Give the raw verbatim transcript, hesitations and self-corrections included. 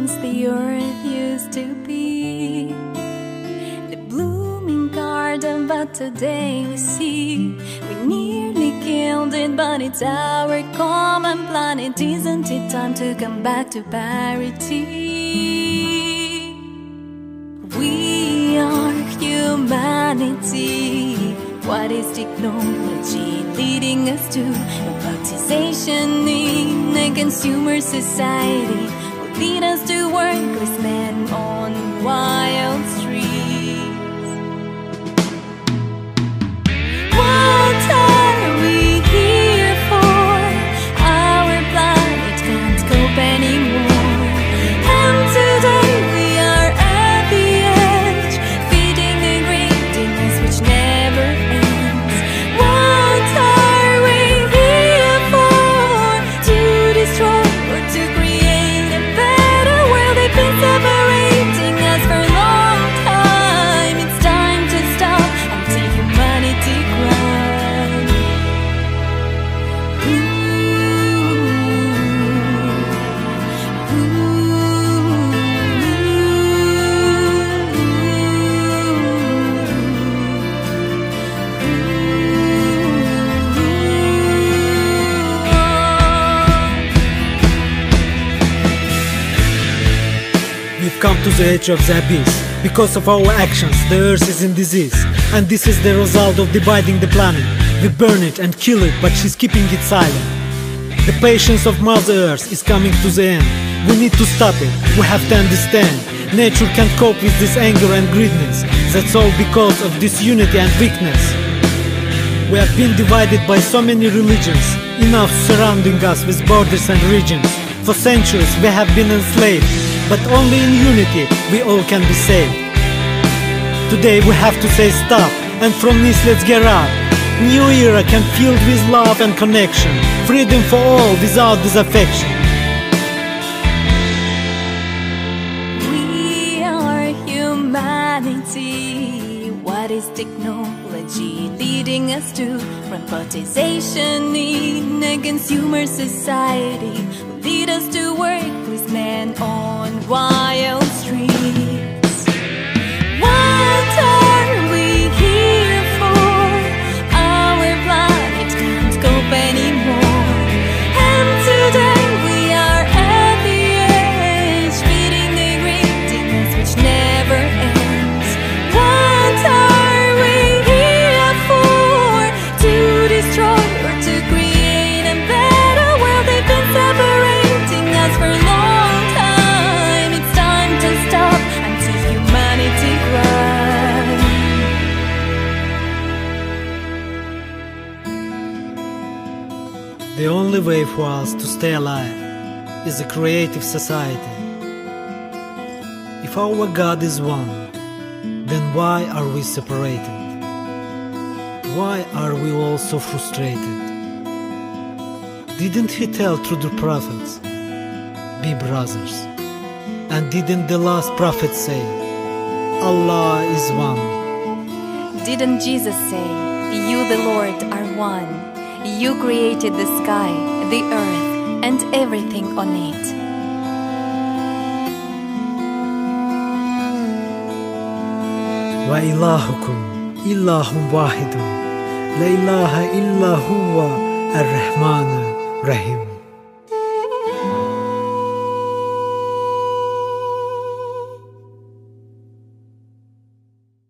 once the earth used to be, the blooming garden, but today we see we nearly killed it, but it's our common planet. Isn't it time to come back to parity? We are humanity. What is technology leading us to? Robotization in a consumer society will lead us to workless men on wild streets. What are we here for? Our planet can't cope anymore, and today we are at the edge, feeding a greediness which never ends. What are we here for? To destroy or to create a better world? They've been separating us for a long time. It's time to stop until humanity cries. Ooh, We've come to the edge of the abyss. Because of our actions, the earth is in disease. And this is the result of dividing the planet. We burn it and kill it, but she's keeping it silent. The patience of Mother Earth is coming to the end. We need to stop it, we have to understand. Nature can't cope with this anger and greediness. That's all because of disunity and weakness. We have been divided by so many religions, enough surrounding us with borders and regions. For centuries we have been enslaved, but only in unity we all can be saved. Today we have to say stop, and from this let's get up. New era can filled with love and connection, freedom for all without disaffection. we are humanity. What is technology leading us to? Robotization in a consumer society will lead us to workless men on wild streets. What are we here for? Our planet can't cope anymore, and today we are at the edge, feeding a greediness which never ends. What are we here for? To destroy or to create a better world? They've been separating us for a long time. It's time to stop until humanity cries. The only way for us to stay alive is a creative society. If our God is one, then why are we separated? Why are we all so frustrated? Didn't He tell through the prophets, be brothers? And didn't the last prophet say, Allah is one? Didn't Jesus say, you the Lord are one? You created the sky, the earth, and everything on it. Wa ilahukum ilahun wahidun, la ilaha illa huwa ar-Rahman ar-Rahim.